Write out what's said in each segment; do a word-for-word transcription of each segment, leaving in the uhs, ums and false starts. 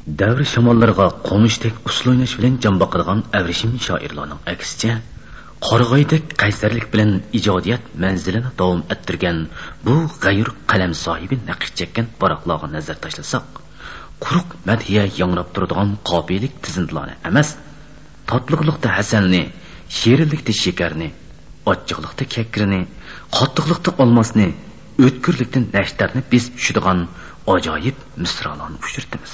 Davr shamollarga qo'nishdek usul o'ynash bilan jon boqadigan avrishim shoirlarning aksicha qorg'oydek qaysarlik bilan ijodiyat manzilini davom ettirgan bu g'ayur qalam sohibi naqsh chekkan baroqlarga nazar tashlasak, quruq madhiya yangrab turadigan qobilik tizindilarni emas, tatliqlikda hasanni, shirinlikda shakarni, ochiqlikda kakrini, qattiqlikda olmasni, o'tkirlikda nashtarni biz tushadigan ajoyib misralarni uchirtamiz.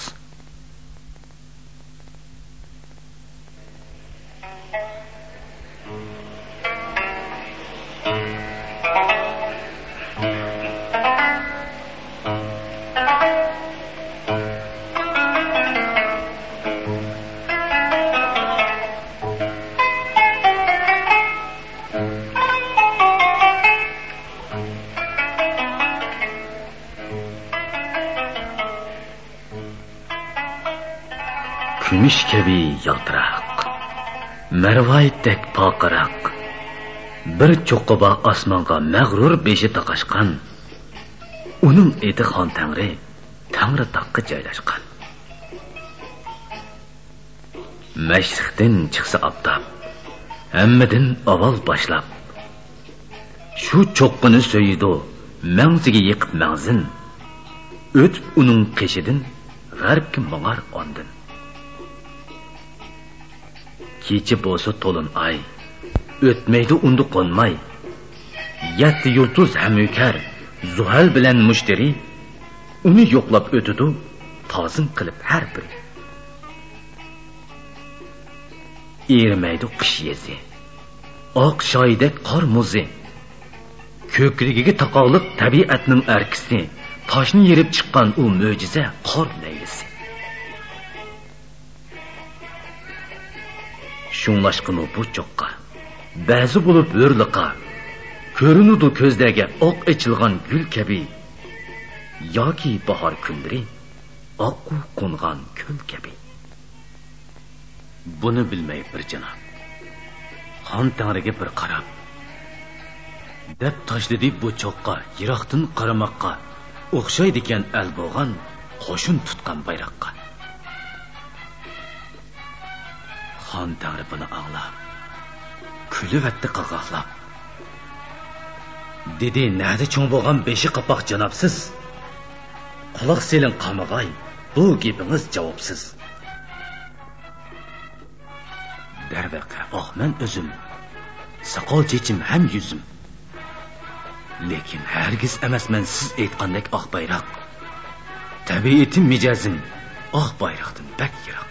Kumush kabi yaltiroq, marvoyatdek poqiroq, bir cho'qqiba osmonga mag'rur beshi taqashgan, uning eti xon tangri, tangri taqqa joylashgan. Mashriqdan chiqsa oftob, hammadan avval boshlab, shu cho'qqini so'yidi, mangziga yiqib mangzin, o'tib uning qeshidan g'arbga mang'ar ondin. Kechi bo'lsa to'lin ay, o'tmaydi undi qo'nmay. Yetti yulduz hamukar, Zuhal bilan mushtari, uni yo'qlab o'tidi, tozim qilib har bir. Erimaydi qish yezi, oq shoydek qor muzi, ko'krigiga taqoqliq tabiatning arkisi, toshni yerib chiqqan u mo'jiza qor laylisi. Şunlaşqını bu çoqqa, ba'zi bo'lib o'rliqa, ko'rinudi ko'zdagi oq ichilgan gul kabi, yoki bahor kunlari oqu qo'ngan ko'l kabi. Buni bilmay bir janob, xon tangriga bir qarab, deb tashladi bu choqqa, yiroqdan qaramoqqa, o'xshaydi ekan al bo'lgan qo'shin tutgan bayroqqa. Xon tangri buni anglab, kulib atdi qaqoqlab. Dedi, nada cho'ng bo'lgan beshi qapoq janobsiz. Quloq seling qamag'ay, bu gapingiz javobsiz. Darvaqa, oh men o'zim, soqol chechim ham yuzim. Lekin hargiz emasman siz aytgandek oq bayroq. Tabiatim mijozim, oq bayroqdan bak yiroq.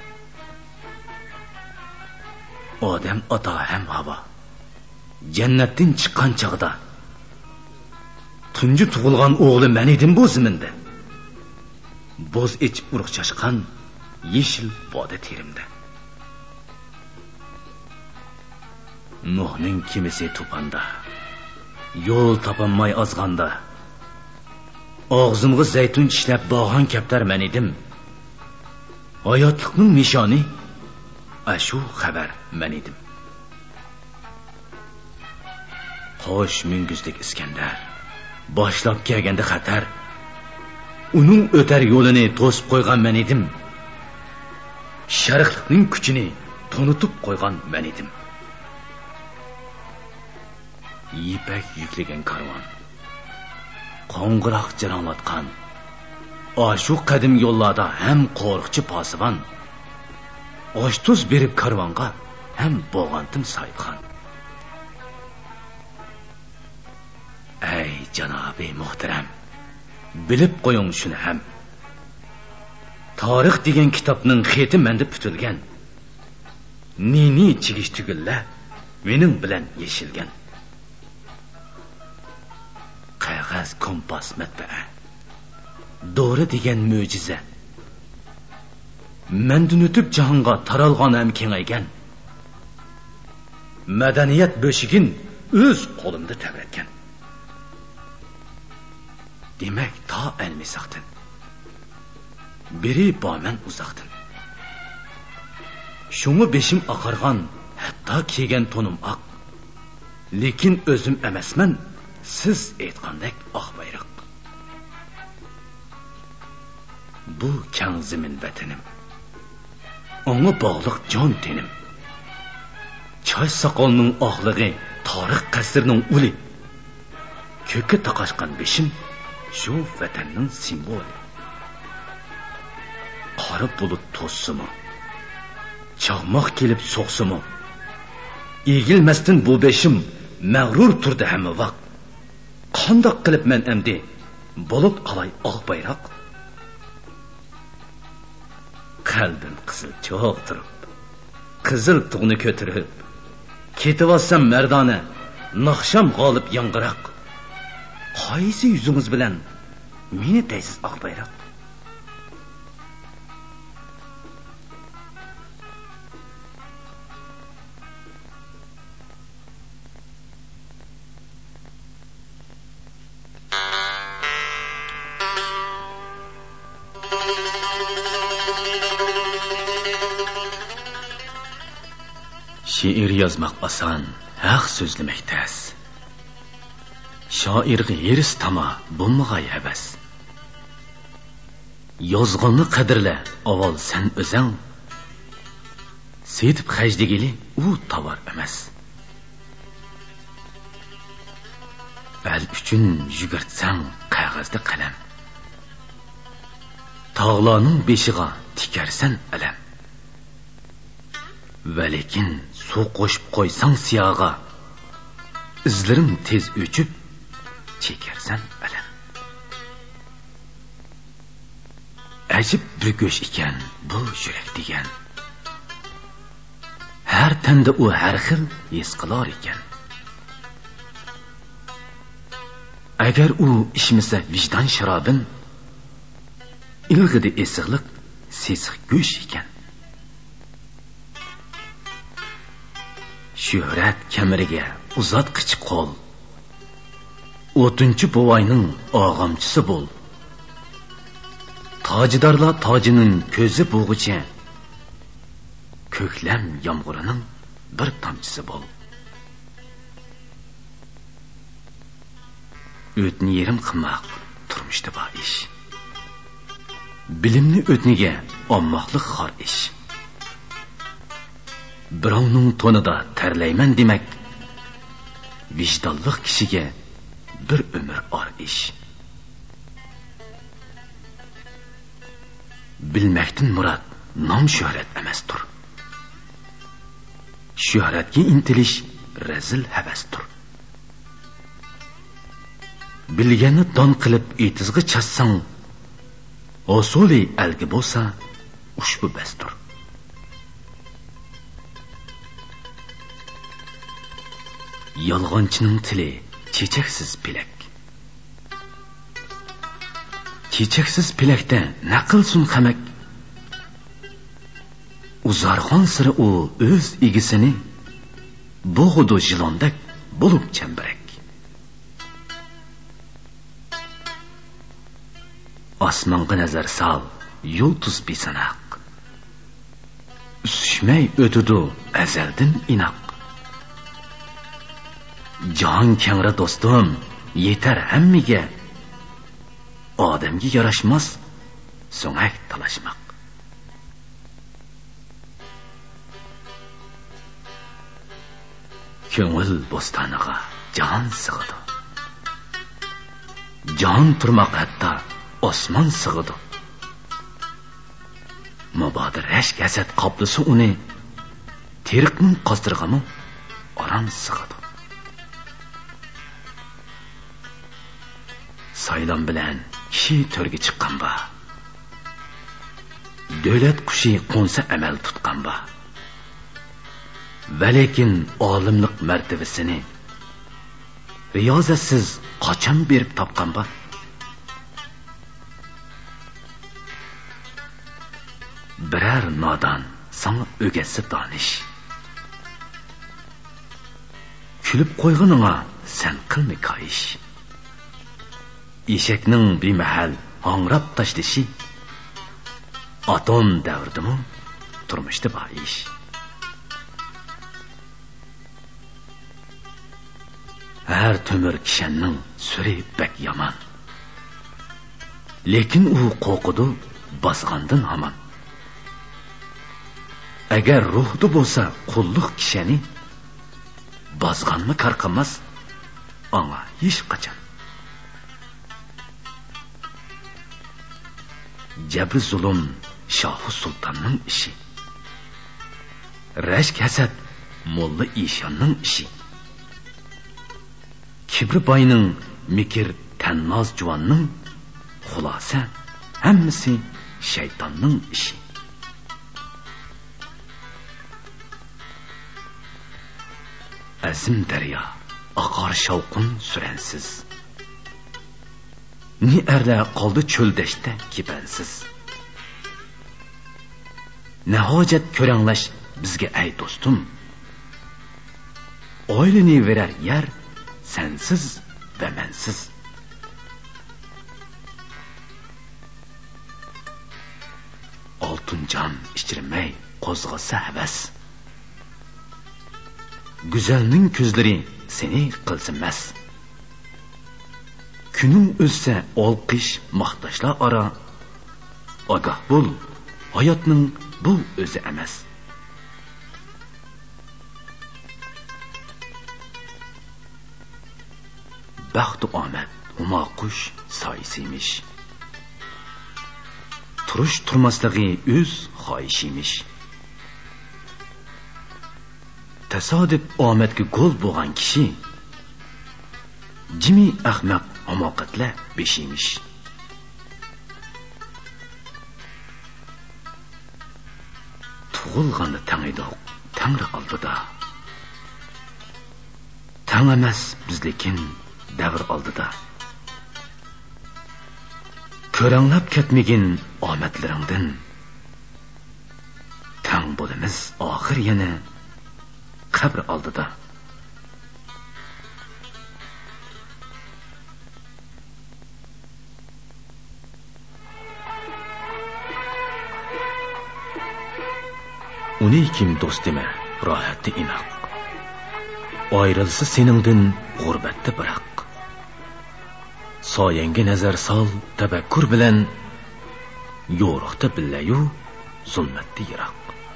Odam ota ham havo, jannatdan chiqqan chog'da tunji tug'ilgan o'g'li men edim bu ziminda. Bo'z ichib urug' chashqan yeshil boda terimda. Nuhning kimisi tupanda, yo'l topolmay ozg'anda, og'zimga zaytun tishlab bog'an kaptar men edim. Hayotlikning nishoni ashu xabar men edim. Qo'sh minguzlik Iskandar boshlab kelganda xatar, uning o'tar yo'lini to'sib qo'ygan men edim. Sharqlikning kuchini tonutib qo'ygan men edim. Yipak yuklegan karvon, qo'ng'iroq jaranglatgan, ashu qadim yo'llarda ham qo'rqchi posibon, osh-tuz berib karvonga ham bo'g'antim soyibxon. Ey janobi muhtaram, bilib qo'ying shuni ham. Tarix degan kitobning xeti menda putilgan. Nini chigish tugilla mening bilan yeshilgan. Qog'oz kompas matbaa, Doğru degan mo'jiza. Mendan o'tib jahonga taralgan ham kengaygan. Madaniyat bo'shigin o'z qo'limda tavratgan. Demak, ta almisaqdan biri boman uzoqdan. Shuni beshim oqargan, hatto kiygan to'nim oq. Lekin o'zim emasman, siz aytgandek oq bayroq. bu kang zamin vatanim. Ona bog'liq jon tenim. Choy soqolning oqlig'i, tarix qasrining uli. Ko'kka taqashgan beshim shu vatanning simboli. Qora bulut to'ssimi, chaqmoq kelib so'qsimi, egilmasdan bu beshim mag'rur turdi hamma vaqt. Qandoq qilib men endi bo'lib qalay oq bayroq? Qalbim qizil cho'q turib, qizil tug'ni ko'tirib, ketivassam mardona, naqsham g'olib yangiroq. Qaysi yuzingiz bilan meni deysiz oq bayroq? Şiir yazmak asan, haq so'zlamak tas. Shoirga yeris tama bo'lmag'ay havas. Yozg'onni qadrla, avval sen o'zing. Setib xajdigili u tovar emas. Al uchun yugurtsang qog'ozda qalam. Tog'larning beshiga tikarsan alam. Va lekin suv qo'shib qo'ysang siyoga, izlarim tez o'chib chekarsan alam. Ajib bir go'sh ekan bu yurak degan. Har tanda u har xil his qilar ekan. Agar u ishmasa vijdon sharobin, ilg'idi esiqliq sesiq go'sh ekan. Shuhrat kameriga uzatqich qo'l, o'tinchi bovoyning og'amchisi bo'l. Tojidarlar tojining ko'zi bo'g'icha, ko'klam yomg'irining bir tomchisi bo'l. O'tni yerim qilmoq turmushda bor ish. Bilimni o'tniga olmoqlik xor ish. Birovning to'nida tarlayman demak, vijdonli kishiga bir umr or ish. Bilmakdan murod nom shuhrat emasdir. Shuhratga intilish razil havasdir. Bilganni don qilib etizg'i chassang, osuli algi bo'lsa ushbu basdir. Yolg'onchining tili chechaksiz pilak. Chechaksiz pilakda naqilsun qamak. Uzarxon siri u o'z egisini bo'g'du jilondak bo'lib chambarak. Osmonga nazar sol, yulduz besanaq. Usishmay o'tudu azaldan inoq. Jon kangra do'stim, yetar hammiga. Odamga yarashmas so'ngak talashmoq. Ko'ngil bo'stoniga jon sig'idi. Jon turmoq hatto osmon sig'idi. Mabodir rashk hasad qoplisi uni teriqning qostirg'ami oram sig'idi. Saylon bilan kishi to'rga chiqqan ba. Davlat qushi qo'nsa amal tutgan ba. Va lekin olimlik martabasini riyozatsiz qachon berib topgan ba? Birar nodon sana o'gasi donish. Kulib qo'yguningga sen qilma koyish. Eshakning bemahal hangrab tashlashi atom davridimi turmushda bor ish. Har to'mir kishanning suri bak yomon. Lekin u qo'qidu bosgandan hamon. Agar ruhda bo'lsa qulluq kishini bosganmi qarqamas anga hech qachon. Jabr zulm Shoh Sultonning ishi. Rashk hasad Molla Ishonning ishi. Kibri boyning mikr tannoz juvonning xulosa hammasi shaytonning ishi. Azim daryo oqar shavqun suransiz. Ni erlar qoldi cho'ldashda kibansiz. Nahojat ko'ranglash bizga ay do'stim. Oilani verar yer sensiz ve mensiz. Altın can içirmey qo'zg'asa havas. Güzelning ko'zlari seni qilsinmas. Kuning o'ssa olqish maqtashlar ara. Ogoh bo'l, hayotning bu o'zi emas. Baxt omad huma qush soyisiymish. Turush turmasligi o'z xohishimish. Tasodif omadga gol bo'lgan kishi jimi ahmaq hamoqatla beshimish. Tug'ilganda tang edi, Tangri oldida. Tang emas biz lekin davr oldida. Ko'ranglab ketmagin omadlaringdan. Tang bo'lamiz oxir yana qabr oldida. Uni kim do'stima rohatda inoq. Ayrılsa seningdan g'urbatda biroq. Soyangga nazar sol tafakkur bilan yo'riqda billayu zulmatda yiroq.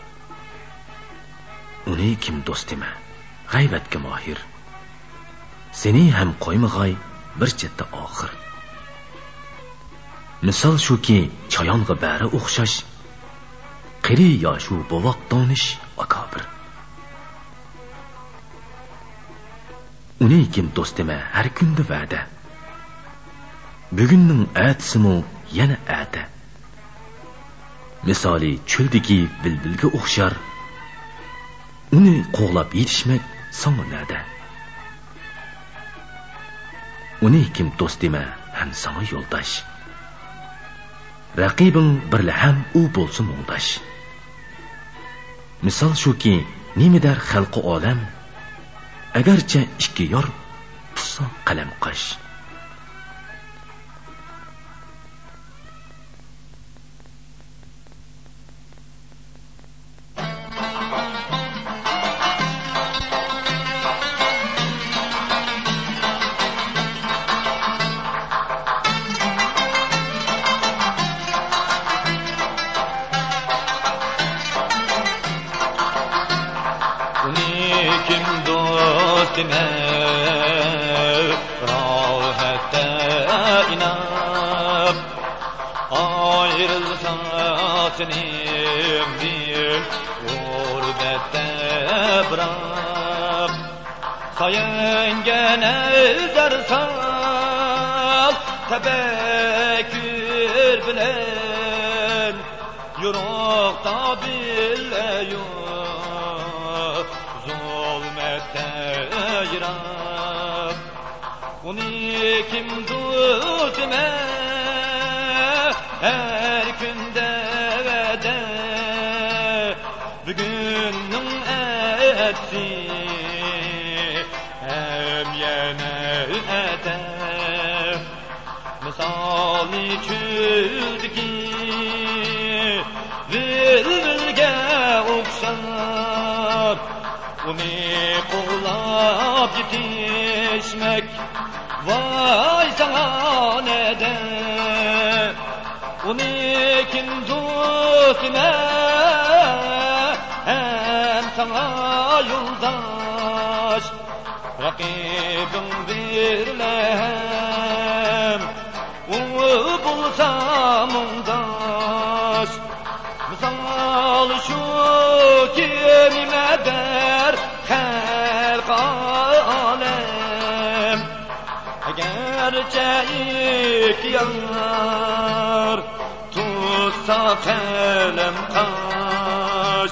Uni kim do'stima g'aybatga mohir. Seni ham qo'ymag'ay bir chetda oxir. Misol shuki chayonga bari o'xshash. Qiri yoshu bovoq donish akobir. Uni kim do'stima har kunda va'da. Bugunning atisimu yana ata. Misoli cho'ldagi bilbilga o'xshar. Uni qo'g'lab yetishmak sonada. Uni kim do'stima ham sana yo'ldosh. Raqibing birla ham u bo'lsin o'ngdash. Misol shuki nimidar xalqi olam agarcha ikki yor tutsa qalam qash. Tebekkür bilen yurukta bileyo zulmette yirab uni kim tutme her günde vede bugünün etsi hem yine ete misali çüldeki vilvilge okşar uni qo'llab yetişmek vay sana neden Uni kim dostine hem sana yoldaş rakibim birlem u bulsam ondaş misal şu kimime der halk alem gerçek yar tutsa kalem kaş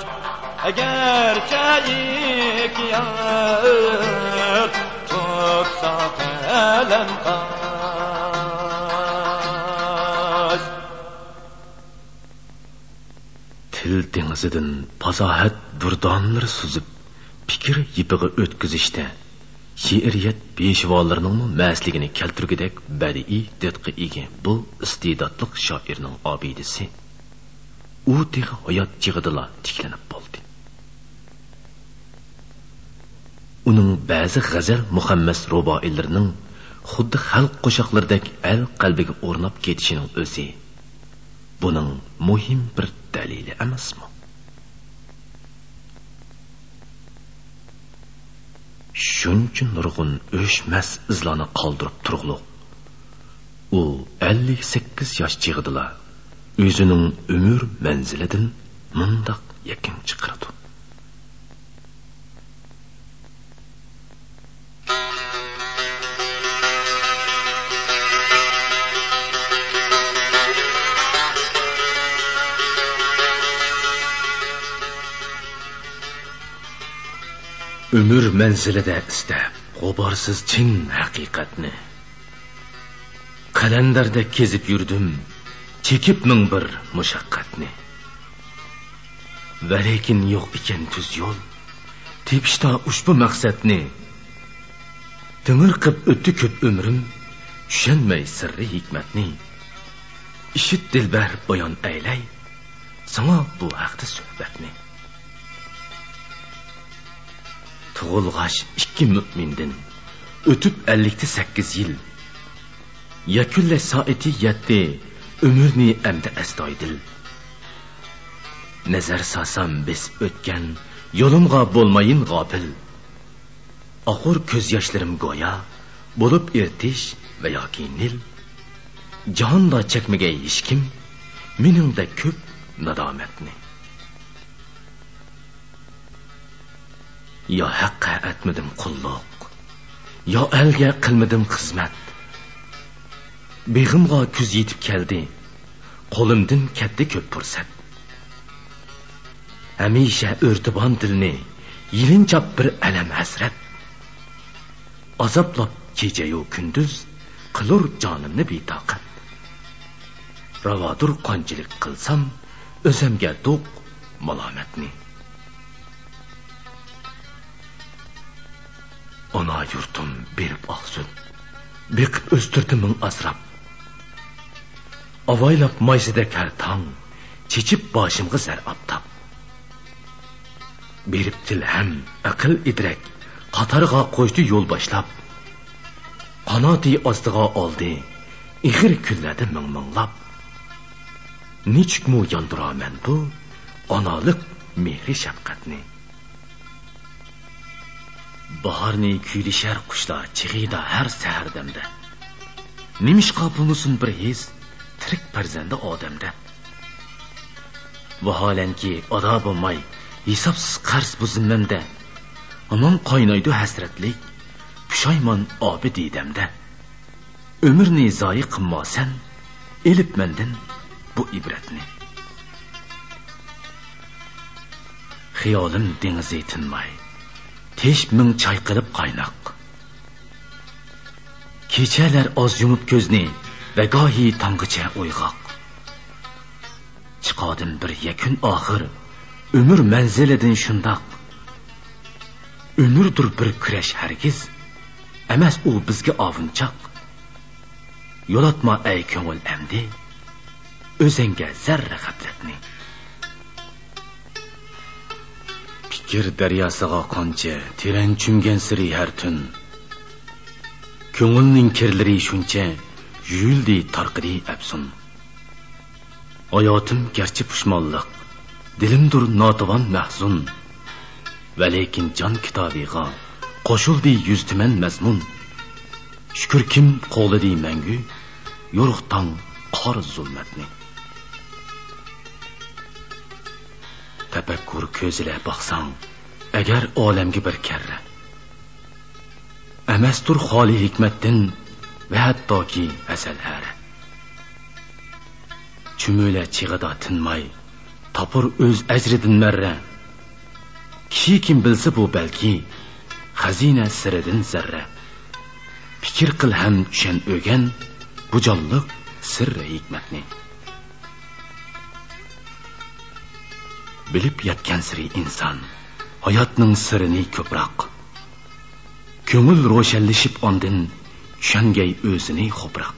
gerçek yar tutsa kalem kaş. Til dengizidan fasohat durdanlar suzib fikr yipiga o'tkazishda she'riyat peshvolarining masligini keltirgidek badiiy didqa ega bu iste'dodli shoirning obidasi u teg hayot chig'idila tiklanib bo'ldi. Uning ba'zi g'azal muhammas ruboilarining xuddi xalq qo'shiqlaridek al qalbiga o'rnab ketishining o'zi buning muhim bir dalili emasmi? Shuncha nurg'un o'chmas izlarni qoldirib turg'liq u ellik sakkiz yosh chig'idila o'zining umr manzilidan mundoq yakin chiqardi. Ömür manzilida istab g'uborsiz chin haqiqatni qalandarda kezib yurdim chekib ming bir mushaqqatni va lekin yo'q ekan tuz yo'l tepishda ushbu maqsadni timir qilib o'tdi ko'p umrim tushunmay sirri hikmatni ishit dilbar bayon aylay sana bu haqda suhbatni. Tug'ilg'ash ikki mu'mindan o'tib ellikta sakkiz yil yakunlash soati yetdi umrni amda astoydil nazar sasam besib o'tgan yo'limga bo'lmayin g'ofil oxir ko'z yoshlarim go'yo bo'lib ertish va yoki nil jahonda chekmagay hech kim meningda ko'p nadomatni. Ya haqqa etmedim qulluq, ya elga qilmadim xizmat. Beg'imga kuz yetib keldi, qo'limdan ketdi ko'p fursat. Hamisha o'rtibon dilni, yilinchab bir alam hasrat. Azoblab kecha-yu kunduz qilur jonimni betoqat. Ravodur qanchilik qilsam, o'zimga do'q malomatni. Ona yurtum berib oqsun, beqib o'stirdi ming asrab. Avaylab maysida kartang, chechib boshimga zar abtab. Berib tilham, aql idrak, qatarga qo'ydi yo'l boshlab. Qanoti ostiga oldi, ig'ir kunladi ming-minglab. Nechukmu yondiraman bu onalik mehri shafqatni. Baharni kuylishar qushlar chig'ida har sahardamda. Nimishqa bulmusun bir his tirik farzandi odamda. Vaholanki oda bo'lmay hisobsiz qarz bu zimmamda. Amon qaynaydi hasratlik, pushaymon obi didamda. Umrni zoyi qilmasan, elib mendan bu ibratni. Xiyolim dengizi tinmay tesh ming choy qilib qaynoq. Kechalar oz yumib ko'zni va gohi tonggacha uyg'oq. Chiqodim bir yakun oxir, umr manzilidan shundoq. Umrdir bir kurash hargiz, emas u bizga ovunchoq. Yo'latma ey ko'ngil amdi, o'zingga zarra g'aflatni. Fikr daryosiga qancha teran chumgan siri har tun. Ko'ngilning kirlari shuncha yuyildi tarqidi afsun. hayotim garchi pushmonliq, dilimdir notavan mahzun, va lekin jon kitobiga qo'shildi yuz tuman mazmun. Shukr kim qo'lidi mangu yo'riqdan qor zulmatni. Tafakkur ko'zile baksang, agar olamga bir karra, emastur xoli hikmettin ve hattoki asal hara. Chumula chig'ida tinmay, topur o'z ajridin marra. Kishi kim bilsa bu balki, xazina siridin zarra. Fikir qil ham tushan o'gan, bu jonliq sirri hikmatni. Bilib yetgan siri inson, hayotning sirini ko'proq. Ko'ngil ro'shanlashib ondin, tushangay o'zini xo'proq.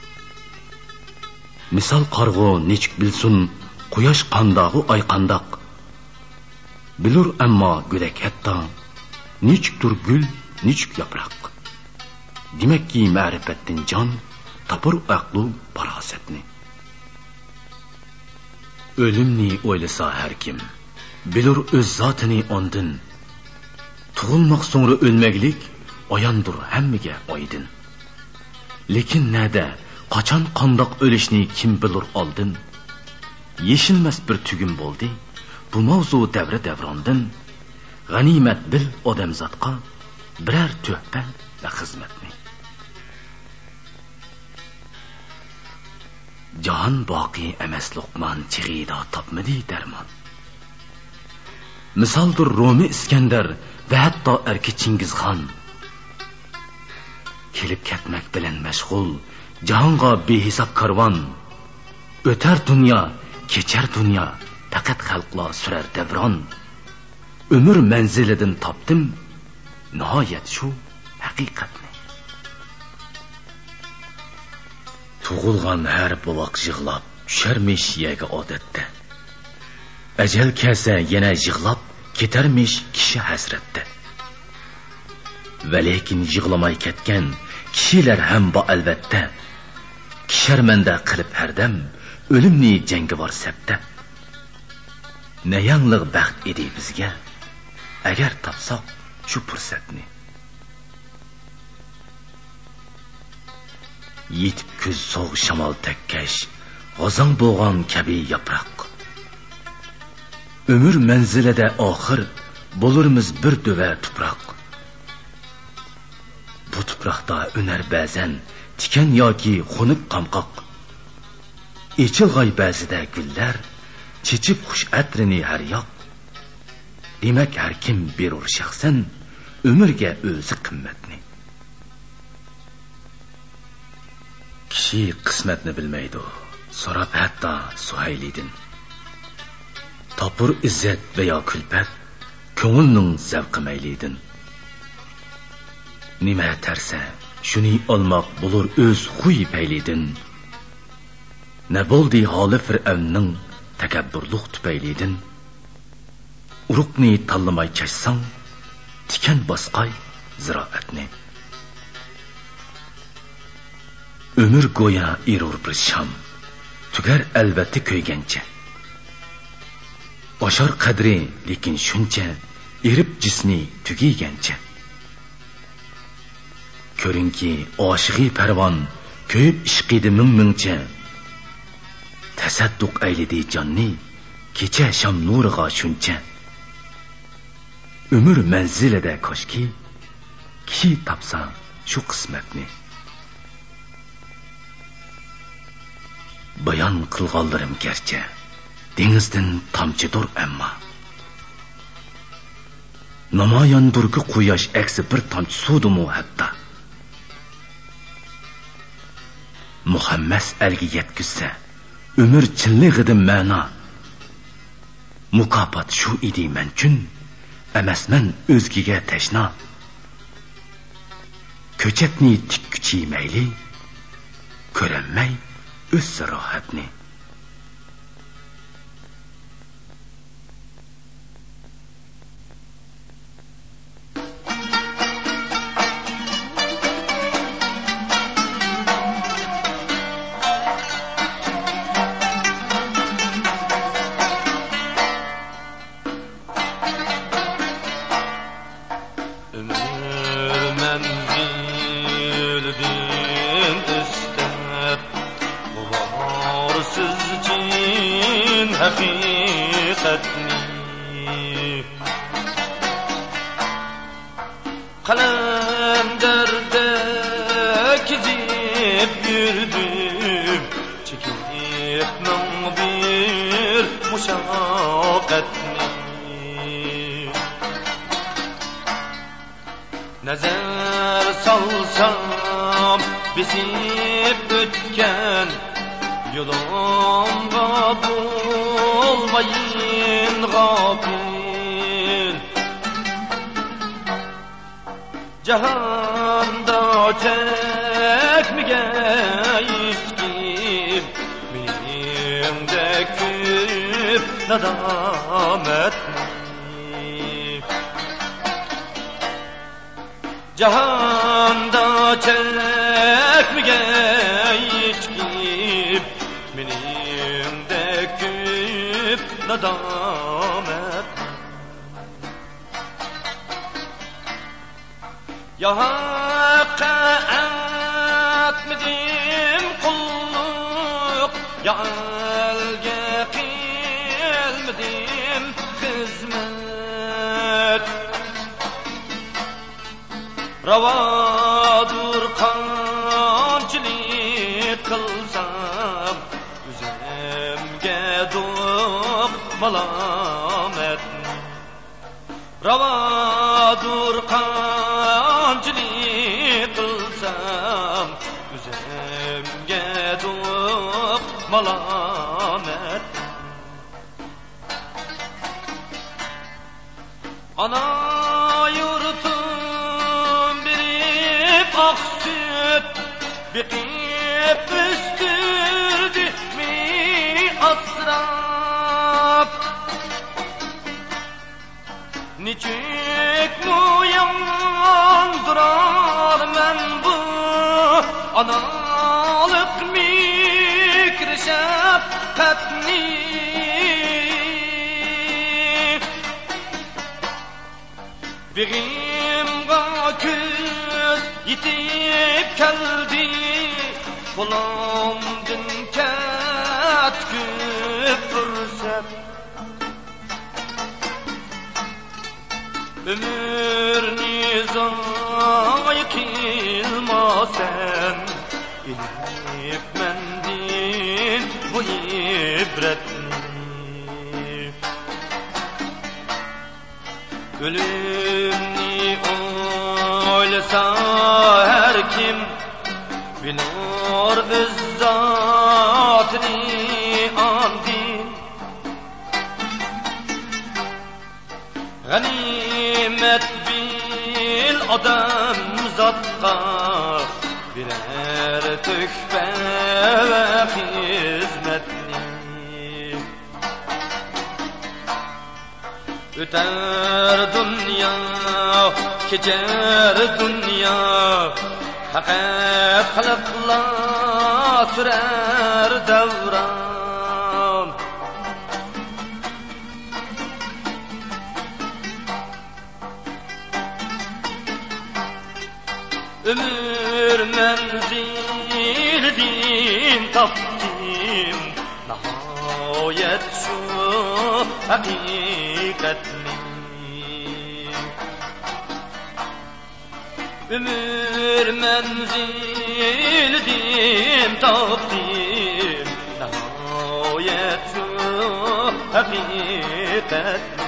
Misal qarg'u nechuk bilsun, quyosh qandog'u ay qandoq. Bilur ammo go'dak hatto, nechukdir gul, nechuk yaproq. Demakki ma'rifatdan jon topur aqlu farosatni. O'limni o'ylasa har kim, bilur o'z zotini ondin. Tug'ilmoq so'ngra o'lmaglik oyondir hammaga oydin. Lekin nada, qachon qandoq o'lishni kim bilur oldin? Yeshilmas bir tugum bo'ldi bu mavzu davri davrondin. G'animat bil odamzodga birar tuhfa va xizmatni. Jahon boqiy emas Luqman chig'ida topmadi darmon. Misoldir Romi Iskandar va hatto erki Chingizxon. Kelib ketmak bilan mashg'ul jahonga behisob karvon. O'tar dunyo, kechar dunyo, faqat xalqlar surar davron. Umr manzilidan topdim nihoyat shu haqiqatni. Tug'ilgan har buloq yig'lab tusharmish yaga odatda. Ajal kelsa yana yig'lab ketarmish kishi hasratda. Va lekin yig'lamay ketgan kishilar ham bo albatta. Kisharmanda qilib hardam o'limni jangovar sabda. Ne yangliq baxt edi bizga, agar topsoq shu fursatni. Yetib kuz so'g' shamol takkash, g'ozon bo'lgan kabi yaproq. Umr manzilida oxir bo'lurmiz bir dova tuproq. Bu tuproqda unar ba'zan tikan yoki xunuk qamqoq. Echilg'ay ba'zida gullar, chechib xush atrini har yoq. Demak har kim berur shaxsan umrga o'zi qimmatni. Kishi qismatni bilmaydi, so'rab hatto Suhaylidin. Topur izzat va yo kulpat, ko'ngilning zavqi maylidin. Nima tarsa, shuni olmoq bo'lur o'z xuy paylidin. Ne bo'ldi holi Fir'avnning takabburlik tupaylidin. Uruqni tanlamay kashsang, tikan bosqay ziroatni. Ömür go'ya erur bir sham, tugar albatta ko'ygancha. Oshar qadri lekin shuncha, erib jismi tugigancha. Ko'ringki oshig'i parvon, ko'yib ishqidi ming-mingcha. Tasadduq aylidi jonni, kecha sham nuriga shuncha. Ömür manzilida koshki, kishi topsa shu qismatni. Bayon qilganlarim garchi dengizdan tomchidir ammo. Namoyondurki quyosh aksi bir tomchi suvdimu hatta. Muhammas algi yetkizsa, umr chinligidan ma'no. Mukofot shu edi men uchun, emasman o'zgiga tashna. Ko'chatni tikkuchi mayli, ko'ranmay o'z rohatni. siz için hakikatni kalemderde kizip yürüdüm çekip min bir muşakkatni nazar salsam bisip ötken yolumda bulmayın gafil cihanda çekmege içkim benimde küp nadametni cihanda çekmege içkim benimde küp nadametni ya hakka etmedim kulluk ya elge kılmadım hizmet ravadur kamçilik kılsam üzemge doğup malametni ravadur kamçilik kılsam üzemge doğup malametni ana yurtum birip ak süt bikip üstürdü mi asraf niçik mu yandırar men bu analık mikri şefkatni Begimga küz yitip keldi Bulamdın ketküp fırsat Ömür nizay kilmasen İlip mendin bu ibretni Ölümni oylasa her kim Bilir öz zatını andin Ganimet bil adam zatka Birer tühfe ve hizmetni Öter dünya, geçer dünya Hakikat kılıkla sürer devran Ömür menzil din taptim Nihayet şu hakikatni Ömür menzil din taptim Nihayet şu hakikatni